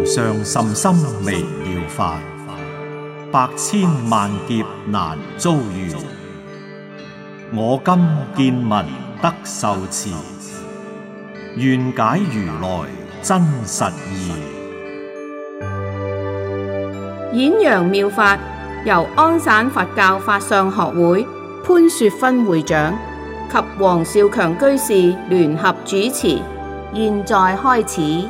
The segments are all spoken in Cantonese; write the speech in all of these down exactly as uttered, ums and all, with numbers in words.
無上甚深微妙法，百千萬劫難遭遇。我今見聞得受持，願解如來真實義。 演揚妙法由安省佛教法相學會潘雪芬會長及黃少強居士聯合主持，現在開始。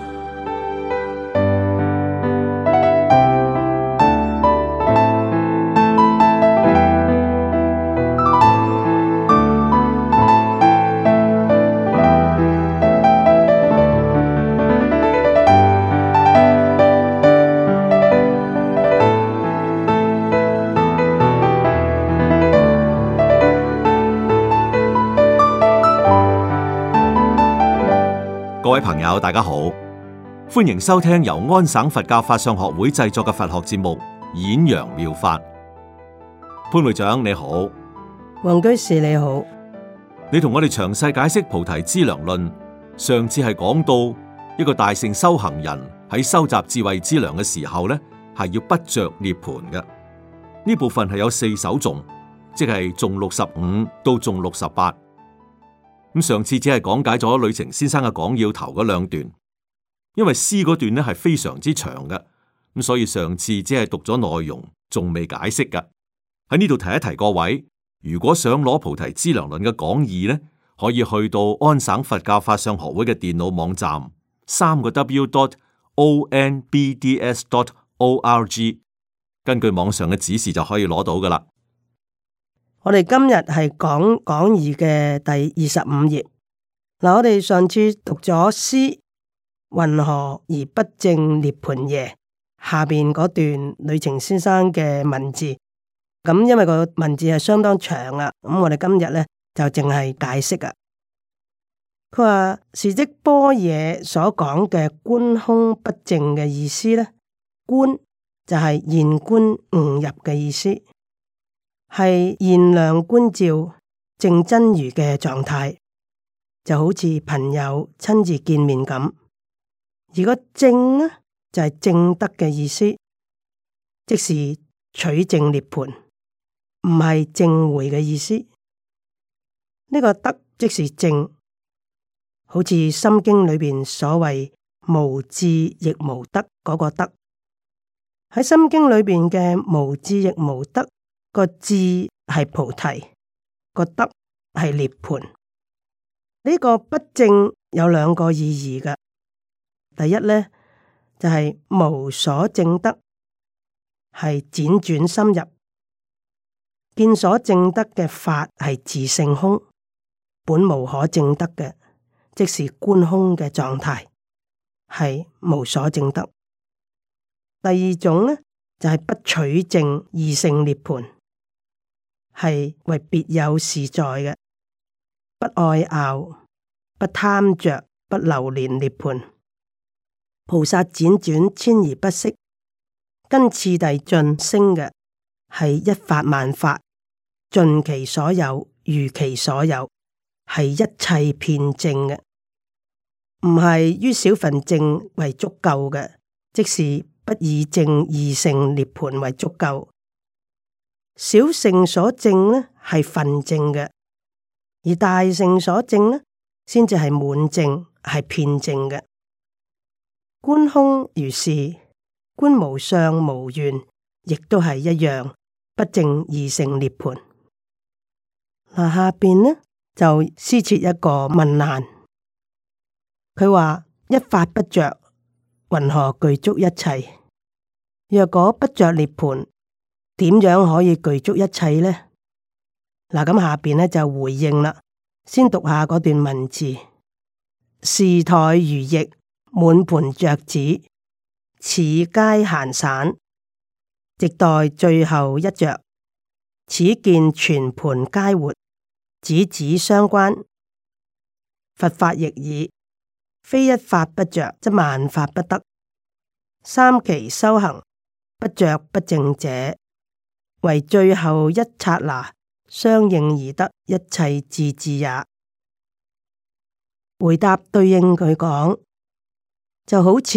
各位朋友，大家好，歡迎收聽由安省佛教法相學會製作嘅佛學節目《演揚妙法》。潘會長你好， 黃居士你好， 你同我哋詳細解釋《菩提資糧論》。上次係講到一個大乘修行人喺收集智慧資糧嘅時候呢，係要不着涅槃嘅。呢部分係有四首頌，即係頌六十五到頌六十八。咁上次只係講解咗呂澄先生嘅講要頭嗰兩段，因為詩嗰段咧係非常之長嘅，咁所以上次只係讀咗內容，仲未解釋噶。喺呢度提一提各位，如果想攞菩提資糧論嘅講義咧，可以去到安省佛教法相學會嘅電腦網站，三個 w dot o n b d s dot o r g， 根據網上嘅指示就可以攞到噶啦。 我哋今日係講講義嘅第二十五頁。嗱，我哋上次讀咗詩，云何而不證涅槃耶？下邊嗰段呂澄先生嘅文字，咁因為個文字係相當長啊，咁我哋今日咧就淨係解釋啊。佢話是即般若所講嘅觀空不淨嘅意思咧，觀就係現觀悟入嘅意思。係現量觀照正真如嘅狀態，就好似朋友親自見面咁。而個證呢，就係、是、證得嘅意思，即是取證涅槃，唔係證會嘅意思。呢、這個得即是證，好似《心經》裏邊所謂無智亦無得嗰個得。喺《心經》裏邊嘅無智亦無得。個智係菩提，個得係涅槃。呢、這個不證有兩個意義嘅。第一呢，就係、是、無所證得，係輾轉深入，見所證得嘅法係自性空，本無可證得嘅，即是觀空嘅狀態，係無所證得。第二種呢，就係、是、不取證二性涅槃。係為別有事在嘅，不愛拗，不貪着，不留戀涅槃。菩薩輾轉遷移不息，跟次第進升嘅，係一法萬法，盡其所有，如其所有，係一切遍證嘅，唔係於小份證為足夠嘅，即是不以證二性涅槃為足夠。小乘所證呢係分證嘅，而大乘所證呢先至係滿證，係遍證嘅。觀空如是，觀無相無願，亦都係一樣，不證二性涅槃。嗱，下邊呢就施設一個問難，佢話一法不着，云何具足一切？若果不着涅槃，點樣可以具足一切呢？嗱，咁下邊呢就回應啦。先讀下嗰段文字：事台如翼，滿盤雀子，此皆閒散，直待最後一着。此見全盤皆活，子子相關。佛法亦爾，非一法不着，則萬法不得。三期修行，不着不證者，為最後一剎那相應而得一切智智也。回答對應佢講，就好似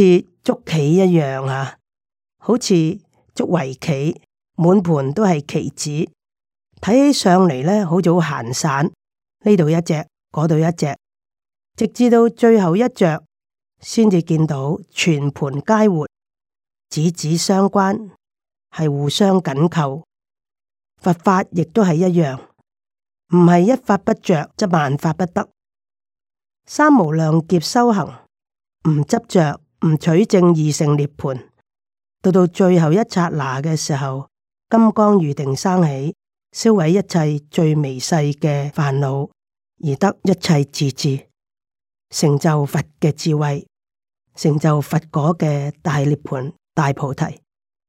捉棋一樣啊，好似捉圍棋，滿盤都係棋子，睇起上嚟咧好似好閒散，呢度一隻，嗰度一隻，直至到最後一着，先至見到全盤皆活，子子相關，係互相緊扣。佛法亦都係一樣，唔係一法不着，則萬法不得。三無量劫修行，唔執着，唔取正二乘涅槃，到到最後一剎那嘅時候，金剛喻定生起，銷毀一切最微細嘅煩惱，而得一切自治，成就佛嘅智慧，成就佛果嘅大涅槃、大菩提。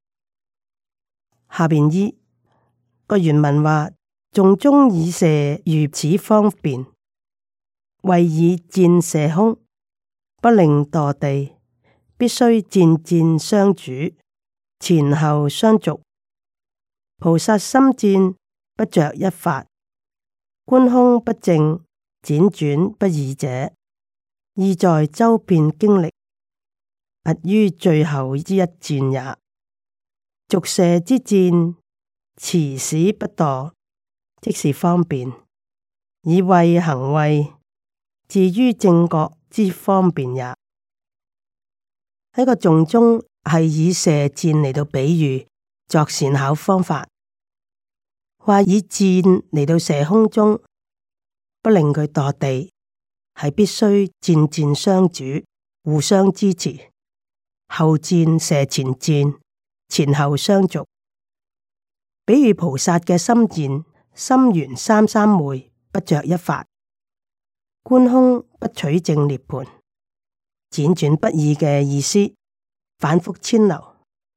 下邊依個原文話：眾中以射喻此方便，為以箭射空，不令墮地，必須箭箭相主，前後相續。菩薩心戰不着一法，觀空不正，輾轉不異者，意在周遍經歷，勿於最後之一箭也。續射之箭，持使不墮，即是方便，以慧行慧，至於正覺之方便也。喺個頌中係以射箭嚟到比喻作善巧方法，話以箭嚟到射空中，不令佢墮地，係必須箭箭相主，互相支持，後箭射前箭，前後相續。比喻菩薩嘅心戰，心圓三三昧，不着一法，觀空不取正涅槃，輾轉不異嘅意思，反覆遷流，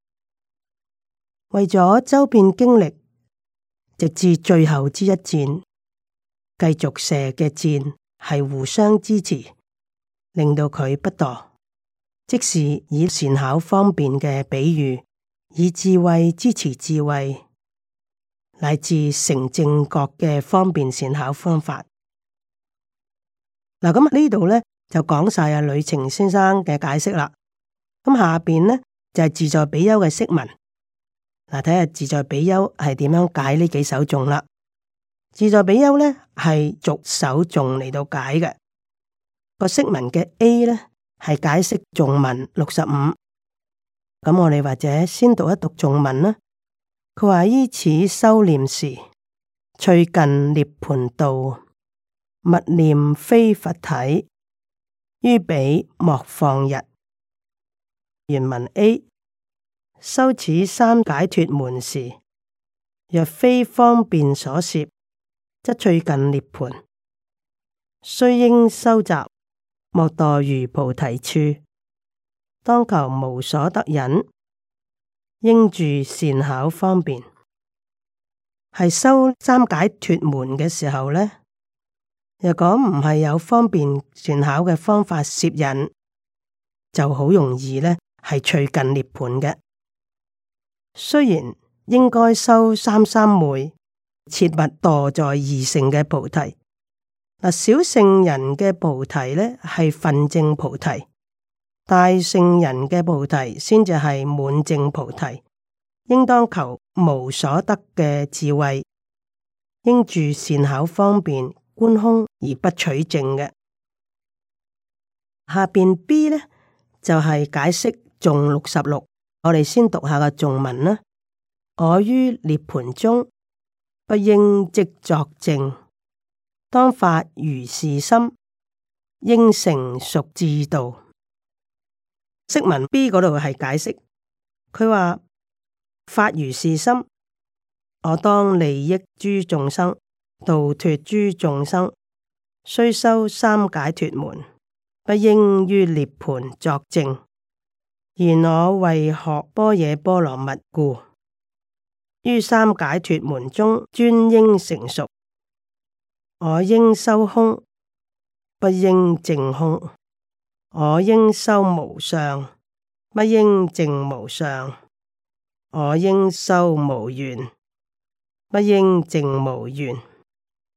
為咗周遍經歷，直至最後之一箭，繼續射嘅箭係互相支持，令到佢不墮，即是以善巧方便嘅比喻，以智慧支持智慧，乃至成正覺嘅方便善巧方法。嗱，咁呢度咧就講晒阿呂澄先生嘅解釋啦。咁下邊咧就係、是、自在比丘嘅釋文。嗱，睇下自在比丘係點樣解呢幾首頌啦。自在比丘咧係逐首頌嚟到解嘅。個釋文嘅 A 咧係解釋頌文六十五。咁我哋或者先讀一讀頌文啦。佢話依此修念時，趣近涅槃道，勿念非佛體，於彼莫放逸。原文 A 修此三解脫門時，若非方便所攝，則趣近涅槃，須應收集，莫墮如菩提處，當求無所得忍，應住善巧方便。係修三解脫門嘅時候呢，若果唔係有方便善巧嘅方法攝引，就好容易呢係趣近涅槃嘅。雖然應該修三三昧，切勿墮在二乘嘅菩提。嗱，小乘人嘅菩提呢係分證菩提，大乘人嘅菩提先至係滿證菩提。應當求無所得嘅智慧，應住善巧方便，觀空而不取證嘅。下邊 B 呢就係、是、解釋頌六十六，我哋先讀下個頌文啦。我於涅槃中，不應即作證，當發如是心，應成熟智道。釋文 B 嗰度係解釋，佢話發如是心，我當利益諸眾生，度脫諸眾生，雖修三解脫門，不應於涅槃作證。然我為學般若波羅蜜故，於三解脫門中專應成熟。我應修空，不應證空；我應修無相，不應證無相；我應修無緣，不應證無緣。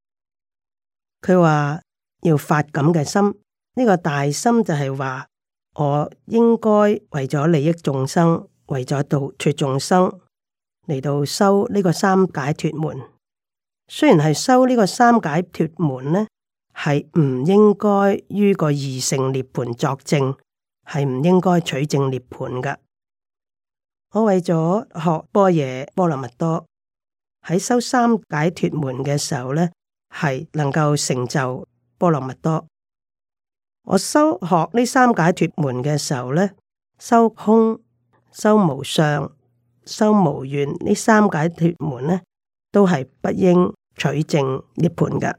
佢話要發咁嘅心，呢、這個大心就係話我應該為咗利益眾生，為咗度脫眾生嚟到修呢個三解脫門。雖然係修呢個三解脫門呢，係唔應該於個二乘涅槃作證，係唔應該取證涅槃㗎。我為咗學般若波羅蜜多，喺修三解脫門嘅時候呢，係能夠成就波羅蜜多。我修學呢三解脫門嘅時候呢，修空、修無相、修無願呢三解脫門呢，都係不應取證涅槃嘅。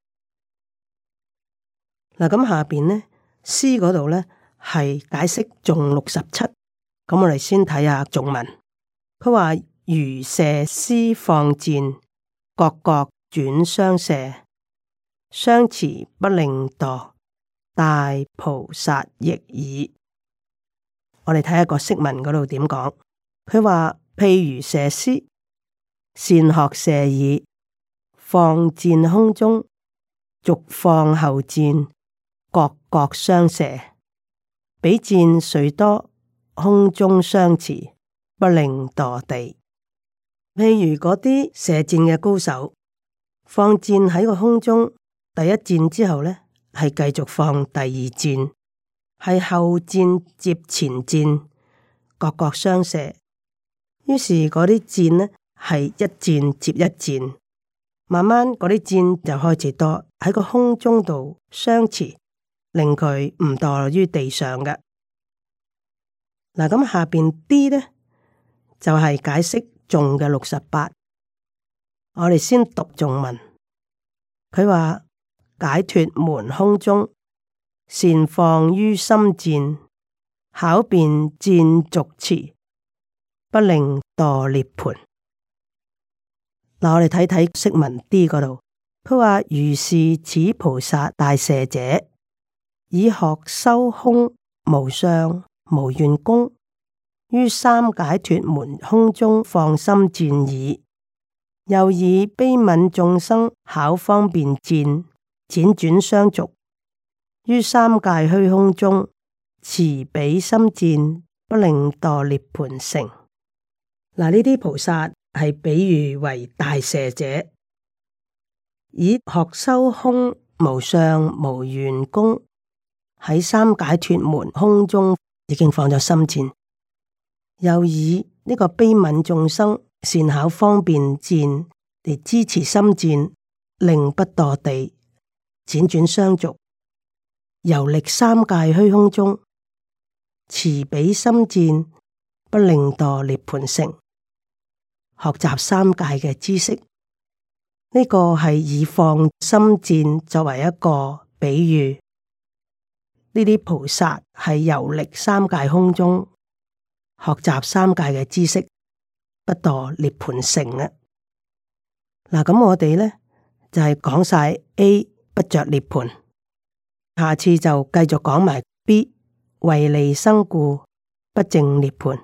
嗱，咁下邊呢詩嗰度呢係解釋頌六十七，咁我哋先睇下頌文。佢話如射絲放箭，各各轉相射，相持不令墮，大菩薩亦爾。我哋睇下個釋文嗰度點講。佢話譬如射絲，善學射已，放箭空中，續放後箭，各各相射，彼箭雖多，空中相持，不令墮地。譬如嗰啲射箭嘅高手，放箭喺個空中，第一箭之後呢，係繼續放第二箭，係後箭接前箭，各各相射。於是嗰啲箭呢，係一箭接一箭，慢慢嗰啲箭就開始多喺個空中度相持，令佢唔墮於地上嘅。嗱，咁下邊啲呢，就係、是、解釋頌嘅六十八。我哋先讀頌文。佢話解脫門空中，善放於心箭，巧辨箭續持，不令墮涅槃。嗱，我哋睇睇釋文 D 嗰度。佢話如是此菩薩大射者，以學修空無相無願功，於三解脫門空中放心箭已。又以悲憫眾生巧方便箭，輾轉相續，於三界虛空中持彼心箭，不令墮涅槃城。嗱，呢啲菩薩係比喻為大射者，以學修空無相無願功，喺三解脫門空中已經放咗心箭，又以呢個悲憫眾生善巧方便箭嚟支持心箭，令不墮地，輾轉相續，遊歷三界虛空中，持彼心箭，不令墮涅槃城。學習三界嘅知識，呢、這個係以放心箭作為一個比喻。呢啲菩薩係遊歷三界空中，學習三界嘅知識，不墮涅槃城啊！嗱，咁我哋咧就係講晒 A 不着涅槃，下次就繼續講埋 B 為利生故不證涅槃。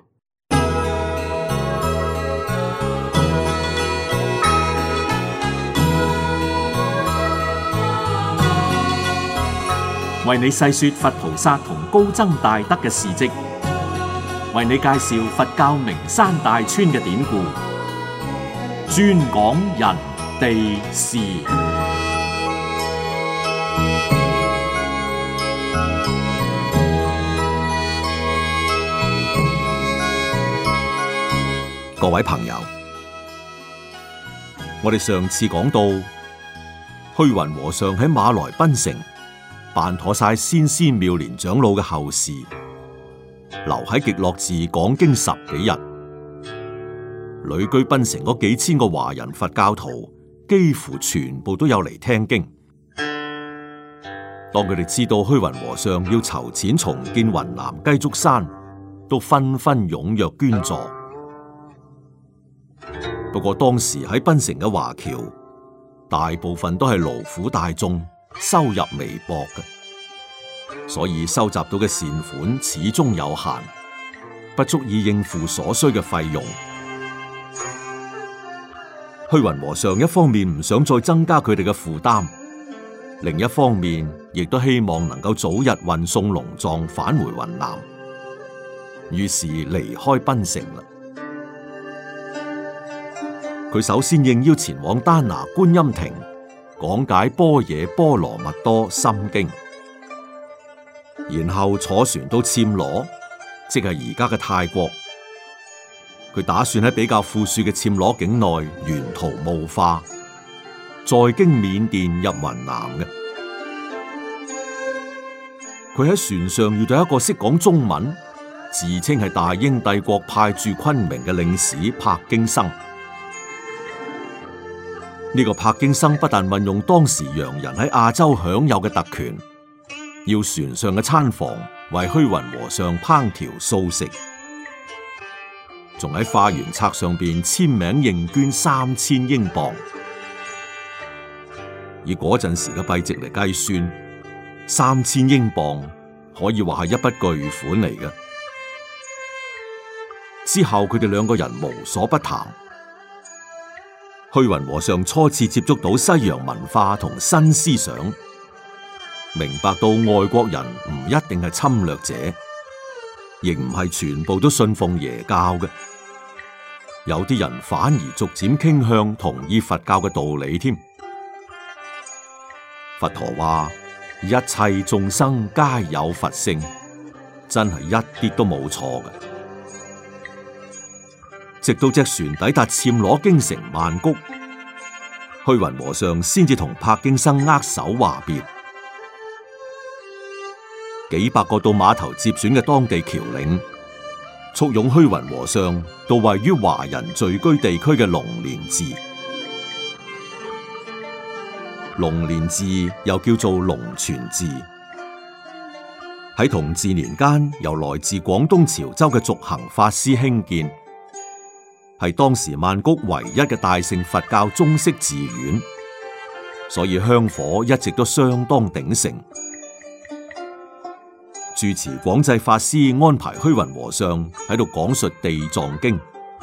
為你細說佛菩薩同高僧大德嘅事跡，為你介紹佛教名山大川嘅典故，專講人地事。 各位朋友，我哋上次講到虛雲和尚喺馬來賓城辦妥晒先師妙蓮長老嘅後事，留喺極樂寺講經十幾日。旅居檳城嗰幾千個華人佛教徒幾乎全部都有嚟聽經。當佢哋知道虛雲和尚要籌錢重建雲南雞足山，都紛紛踴躍捐助。不過當時喺檳城嘅華僑，大部分都係勞苦大眾，收入微薄嘅，所以收集到嘅善款始終有限，不足以應付所需嘅費用。虛雲和尚一方面唔想再增加佢哋嘅負擔， 另一方面亦都希望能夠早日運送龍藏返回雲南，於是離開檳城啦。佢首先應邀前往丹拿觀音亭講解般若波羅蜜多心經，然後坐船到暹羅，即係而家嘅泰國。佢打算喺比較富庶嘅暹羅境內沿途募化，再經緬甸入雲南嘅。佢喺船上遇到一個識講中文、自稱係大英帝國派駐昆明嘅領事柏京生。呢個柏京生不但運用當時洋人喺亞洲享有嘅特權，要船上嘅餐房為虛雲和尚烹調素食，仲喺化緣冊上邊簽名認捐三千英鎊。以嗰陣時嘅幣值嚟計算，三千英鎊可以話係一筆巨款嚟嘅。之後佢哋兩個人無所不談。虛雲和尚初次接觸到西洋文化同新思想，明白到外國人唔一定係侵略者，亦唔係全部都信奉耶教嘅，有啲人反而逐漸傾向同意佛教嘅道理添。佛陀話：一切眾生皆有佛性，真係一啲都冇錯嘅。直到隻船抵達暹羅京城曼谷，虛雲和尚先至同柏京生握手話別。幾百個到碼頭接船嘅當地僑領，簇擁虛雲和尚到位於華人聚居地區嘅龍蓮寺。龍蓮寺又叫做龍泉寺，喺同治年間由來自廣東潮州嘅續行法師興建，係當時曼谷唯一嘅大乘佛教中式寺院，所以香火一直都相當鼎盛。住持廣濟法師安排虛雲和尚喺度講述地藏經。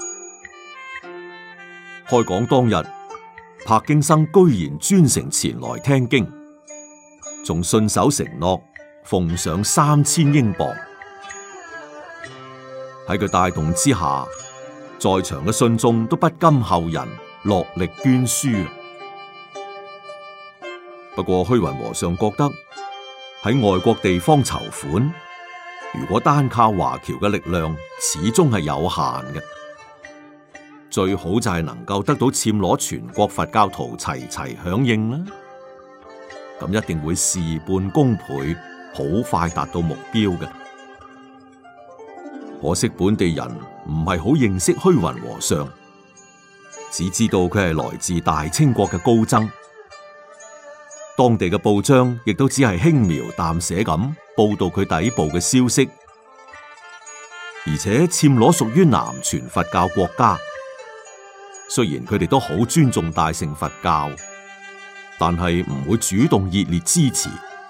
開講當日，柏京生居然專程前來聽經，仲信守承諾奉上三千英鎊。喺佢帶動之下，在場嘅信眾都不甘後人，落力捐輸。不過虛雲和尚覺得喺外國地方籌款，如果單靠華僑嘅力量，始終係有限嘅。最好就係能夠得到暹羅全國佛教徒齊齊響應啦，咁一定會事半功倍，好快達到目標嘅。可惜本地人唔係好認識虛雲和尚，只知道佢係來自大清國嘅高僧。當地嘅報章亦都只係輕描淡寫咁報道佢抵埗嘅消息。而且暹羅屬於南傳佛教國家，雖然佢哋都好尊重大乘佛教，但係唔會主動熱烈支持。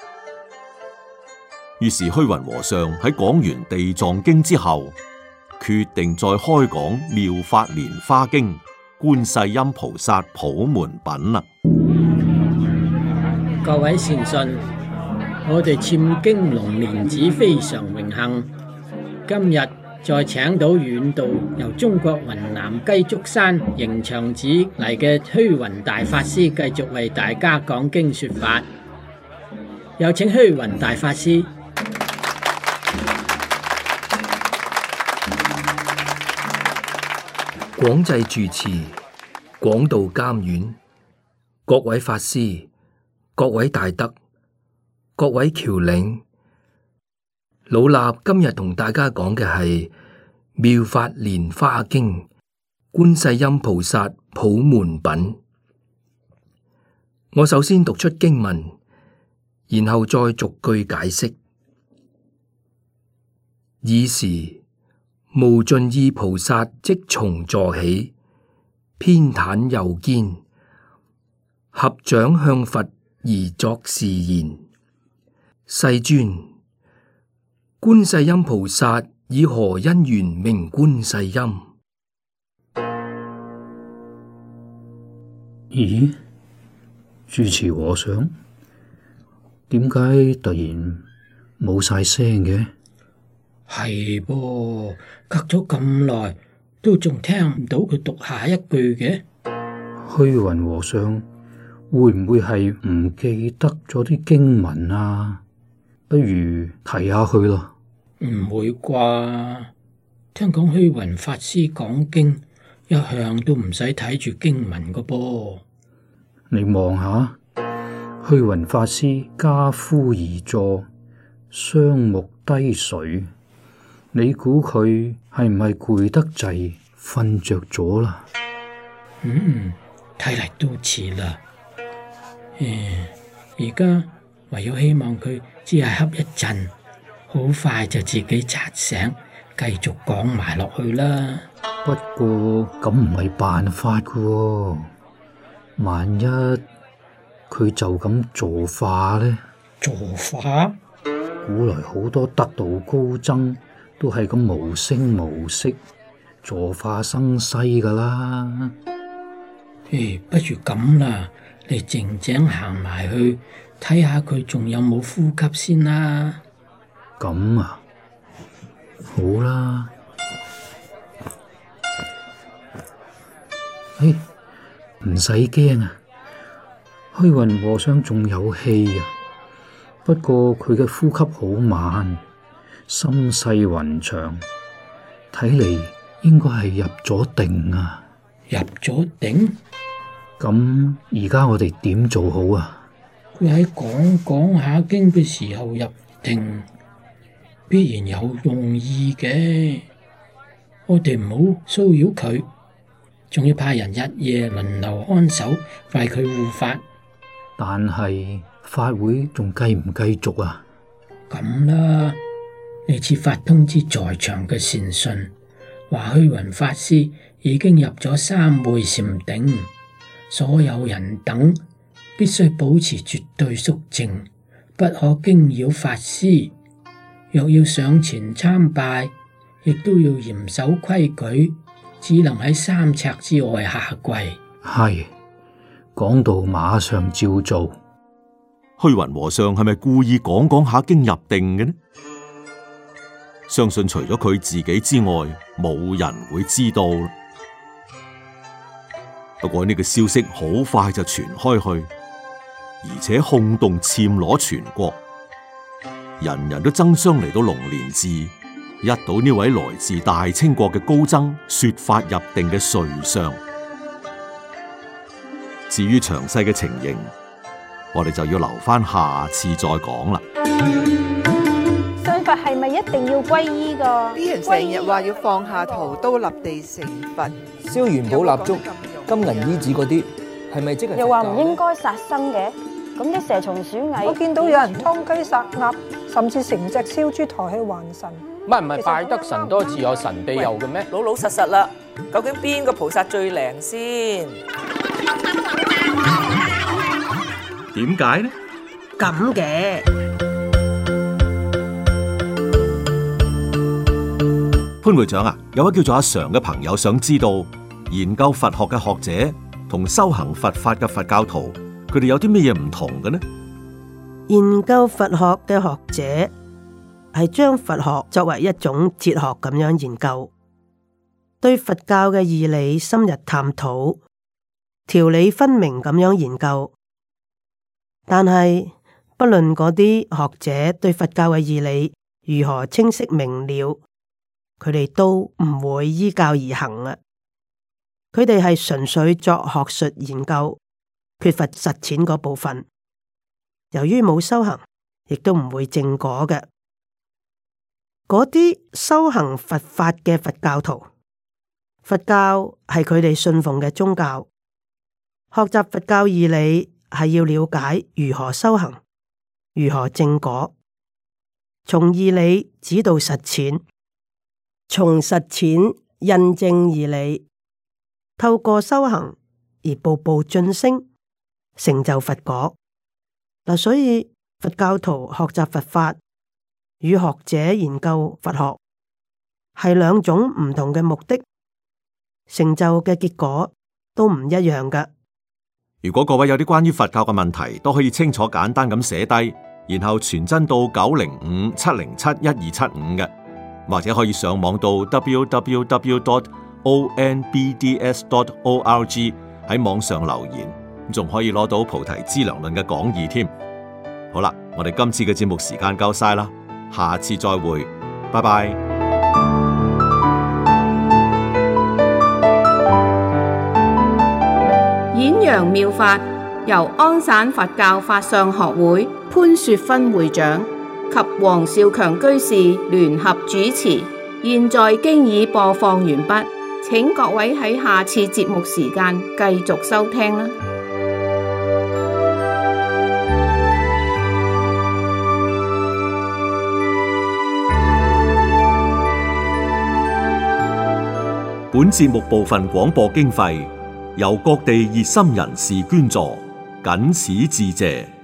於是虛雲和尚喺講完地藏經之後，決定再開講妙法蓮華經、觀世音菩薩普門品啦。 各位善信，我哋簽經龍蓮寺非常榮幸，今日再請到遠道由中國雲南雞足山迎祥寺嚟嘅虛雲大法師，繼續為大家講經說法。有請虛雲大法師。 廣濟住持、廣道監院、各位法師、各位大德、各位僑領，老衲今日同大家講嘅係《妙法蓮華經》觀世音菩薩普門品。我首先讀出經文，然後再逐句解釋。爾時無盡意菩薩即從座起，偏袒右肩，合掌向佛而作是言：世尊，觀世音菩薩以何因緣名觀世音？ 咦，住持和尚， 點解突然冇晒聲嘅？ 係噃，隔咗咁耐，都仲聽唔到佢讀下一句嘅。 虛雲和尚會唔會係唔記得咗啲經文啊？不如提下佢咯。 唔會啩？聽講虛雲法師講經一向都唔使睇住經文個噃。 你望下，虛雲法師跏趺而坐，雙目低垂。你估佢係唔係攰得滯，瞓着咗啦？ 嗯，睇嚟都似啦。誒，而家唯有希望佢只係瞌一陣，好快就自己扎醒，繼續講埋落去啦。 不過咁唔係辦法噶喎，萬一佢就咁坐化呢？ 坐化？ 古來好多得道高僧都係咁無聲無息坐化生西噶啦。 誒，不如咁啦，你靜靜行埋去睇下佢仲有冇呼吸先啦。 咁啊，好啦。誒，唔使驚啊，虛雲和尚仲有氣啊，不過佢嘅呼吸好慢，心細雲長，睇嚟應該係入咗定啊。 入咗定？ 咁而家我哋點做好啊？ 佢喺講講下經嘅時候入定，必然有用意嘅。我哋唔好騷擾佢，仲要派人日夜輪流看守，為佢護法。 但係法會仲繼唔繼續啊？ 咁啦，你設法通知在場嘅善信，話虛雲法師已經入咗三昧禪定，所有人等必須保持絕對肅靜，不可驚擾法師。若要上前參拜，亦都要嚴守規矩，只能喺三尺之外下跪。 係，講到馬上照做。 虛雲和尚係咪故意講講下經入定嘅呢？相信除咗佢自己之外，冇人會知道。不過呢個消息好快就傳開去，而且轟動暹羅全國，人人都爭相嚟到龍蓮寺，一睹呢位來自大清國嘅高僧說法入定嘅瑞相。至於詳細嘅情形，我哋就要留翻下，下次再講啦。 信佛係咪一定要皈依噶？ 啲人成日話要放下屠刀立地成佛， 燒元寶蠟燭、金銀衣紙嗰啲，係咪即係？ 又話唔應該殺生嘅，咁啲蛇蟲鼠蟻， 我見到有人劏雞殺鴨，甚至成隻燒豬抬去還神。 唔係唔係，拜得神多自有神庇佑嘅咩？ 老老實實啦，究竟邊個菩薩最靈先？ 點解呢？ 咁嘅潘會長啊，有位叫做阿常嘅朋友想知道，研究佛學嘅學者同修行佛法嘅佛教徒，佢哋有啲咩嘢唔同嘅呢？ 研究佛學嘅學者係將佛學作為一種哲學咁樣研究，對佛教嘅義理深入探討，條理分明咁樣研究。但係不論嗰啲學者對佛教嘅義理如何清晰明了，佢哋都唔會依教而行啊！佢哋係純粹作學術研究，缺乏實踐嗰部分。由於冇修行，亦都唔會正果嘅。嗰啲修行佛法嘅佛教徒，佛教係佢哋信奉嘅宗教，學習佛教義理係要了解如何修行，如何正果，從義理指導實踐，從實踐印證義理，透過修行而步步晉升，成就佛果。嗱，所以佛教徒學習佛法與學者研究佛學係兩種唔同嘅目的，成就嘅結果都唔一樣㗎。 如果各位有啲關於佛教嘅問題，都可以清楚簡單咁寫低， 然後傳真到九零五七零七一二七五嘅，或者可以上網到 w w w dot o n b d s dot org 喺網上留言，仲可以攞到菩提資糧論嘅講義添。好啦，我哋今次嘅節目時間夠晒啦，下次再會，拜拜。 演揚妙法由安省佛教法相學會潘雪芬會長及黃少強居士聯合主持，現在經已播放完畢，請各位喺下次節目時間繼續收聽啦。 本節目部分廣播經費由各地熱心人士捐助，謹此致謝。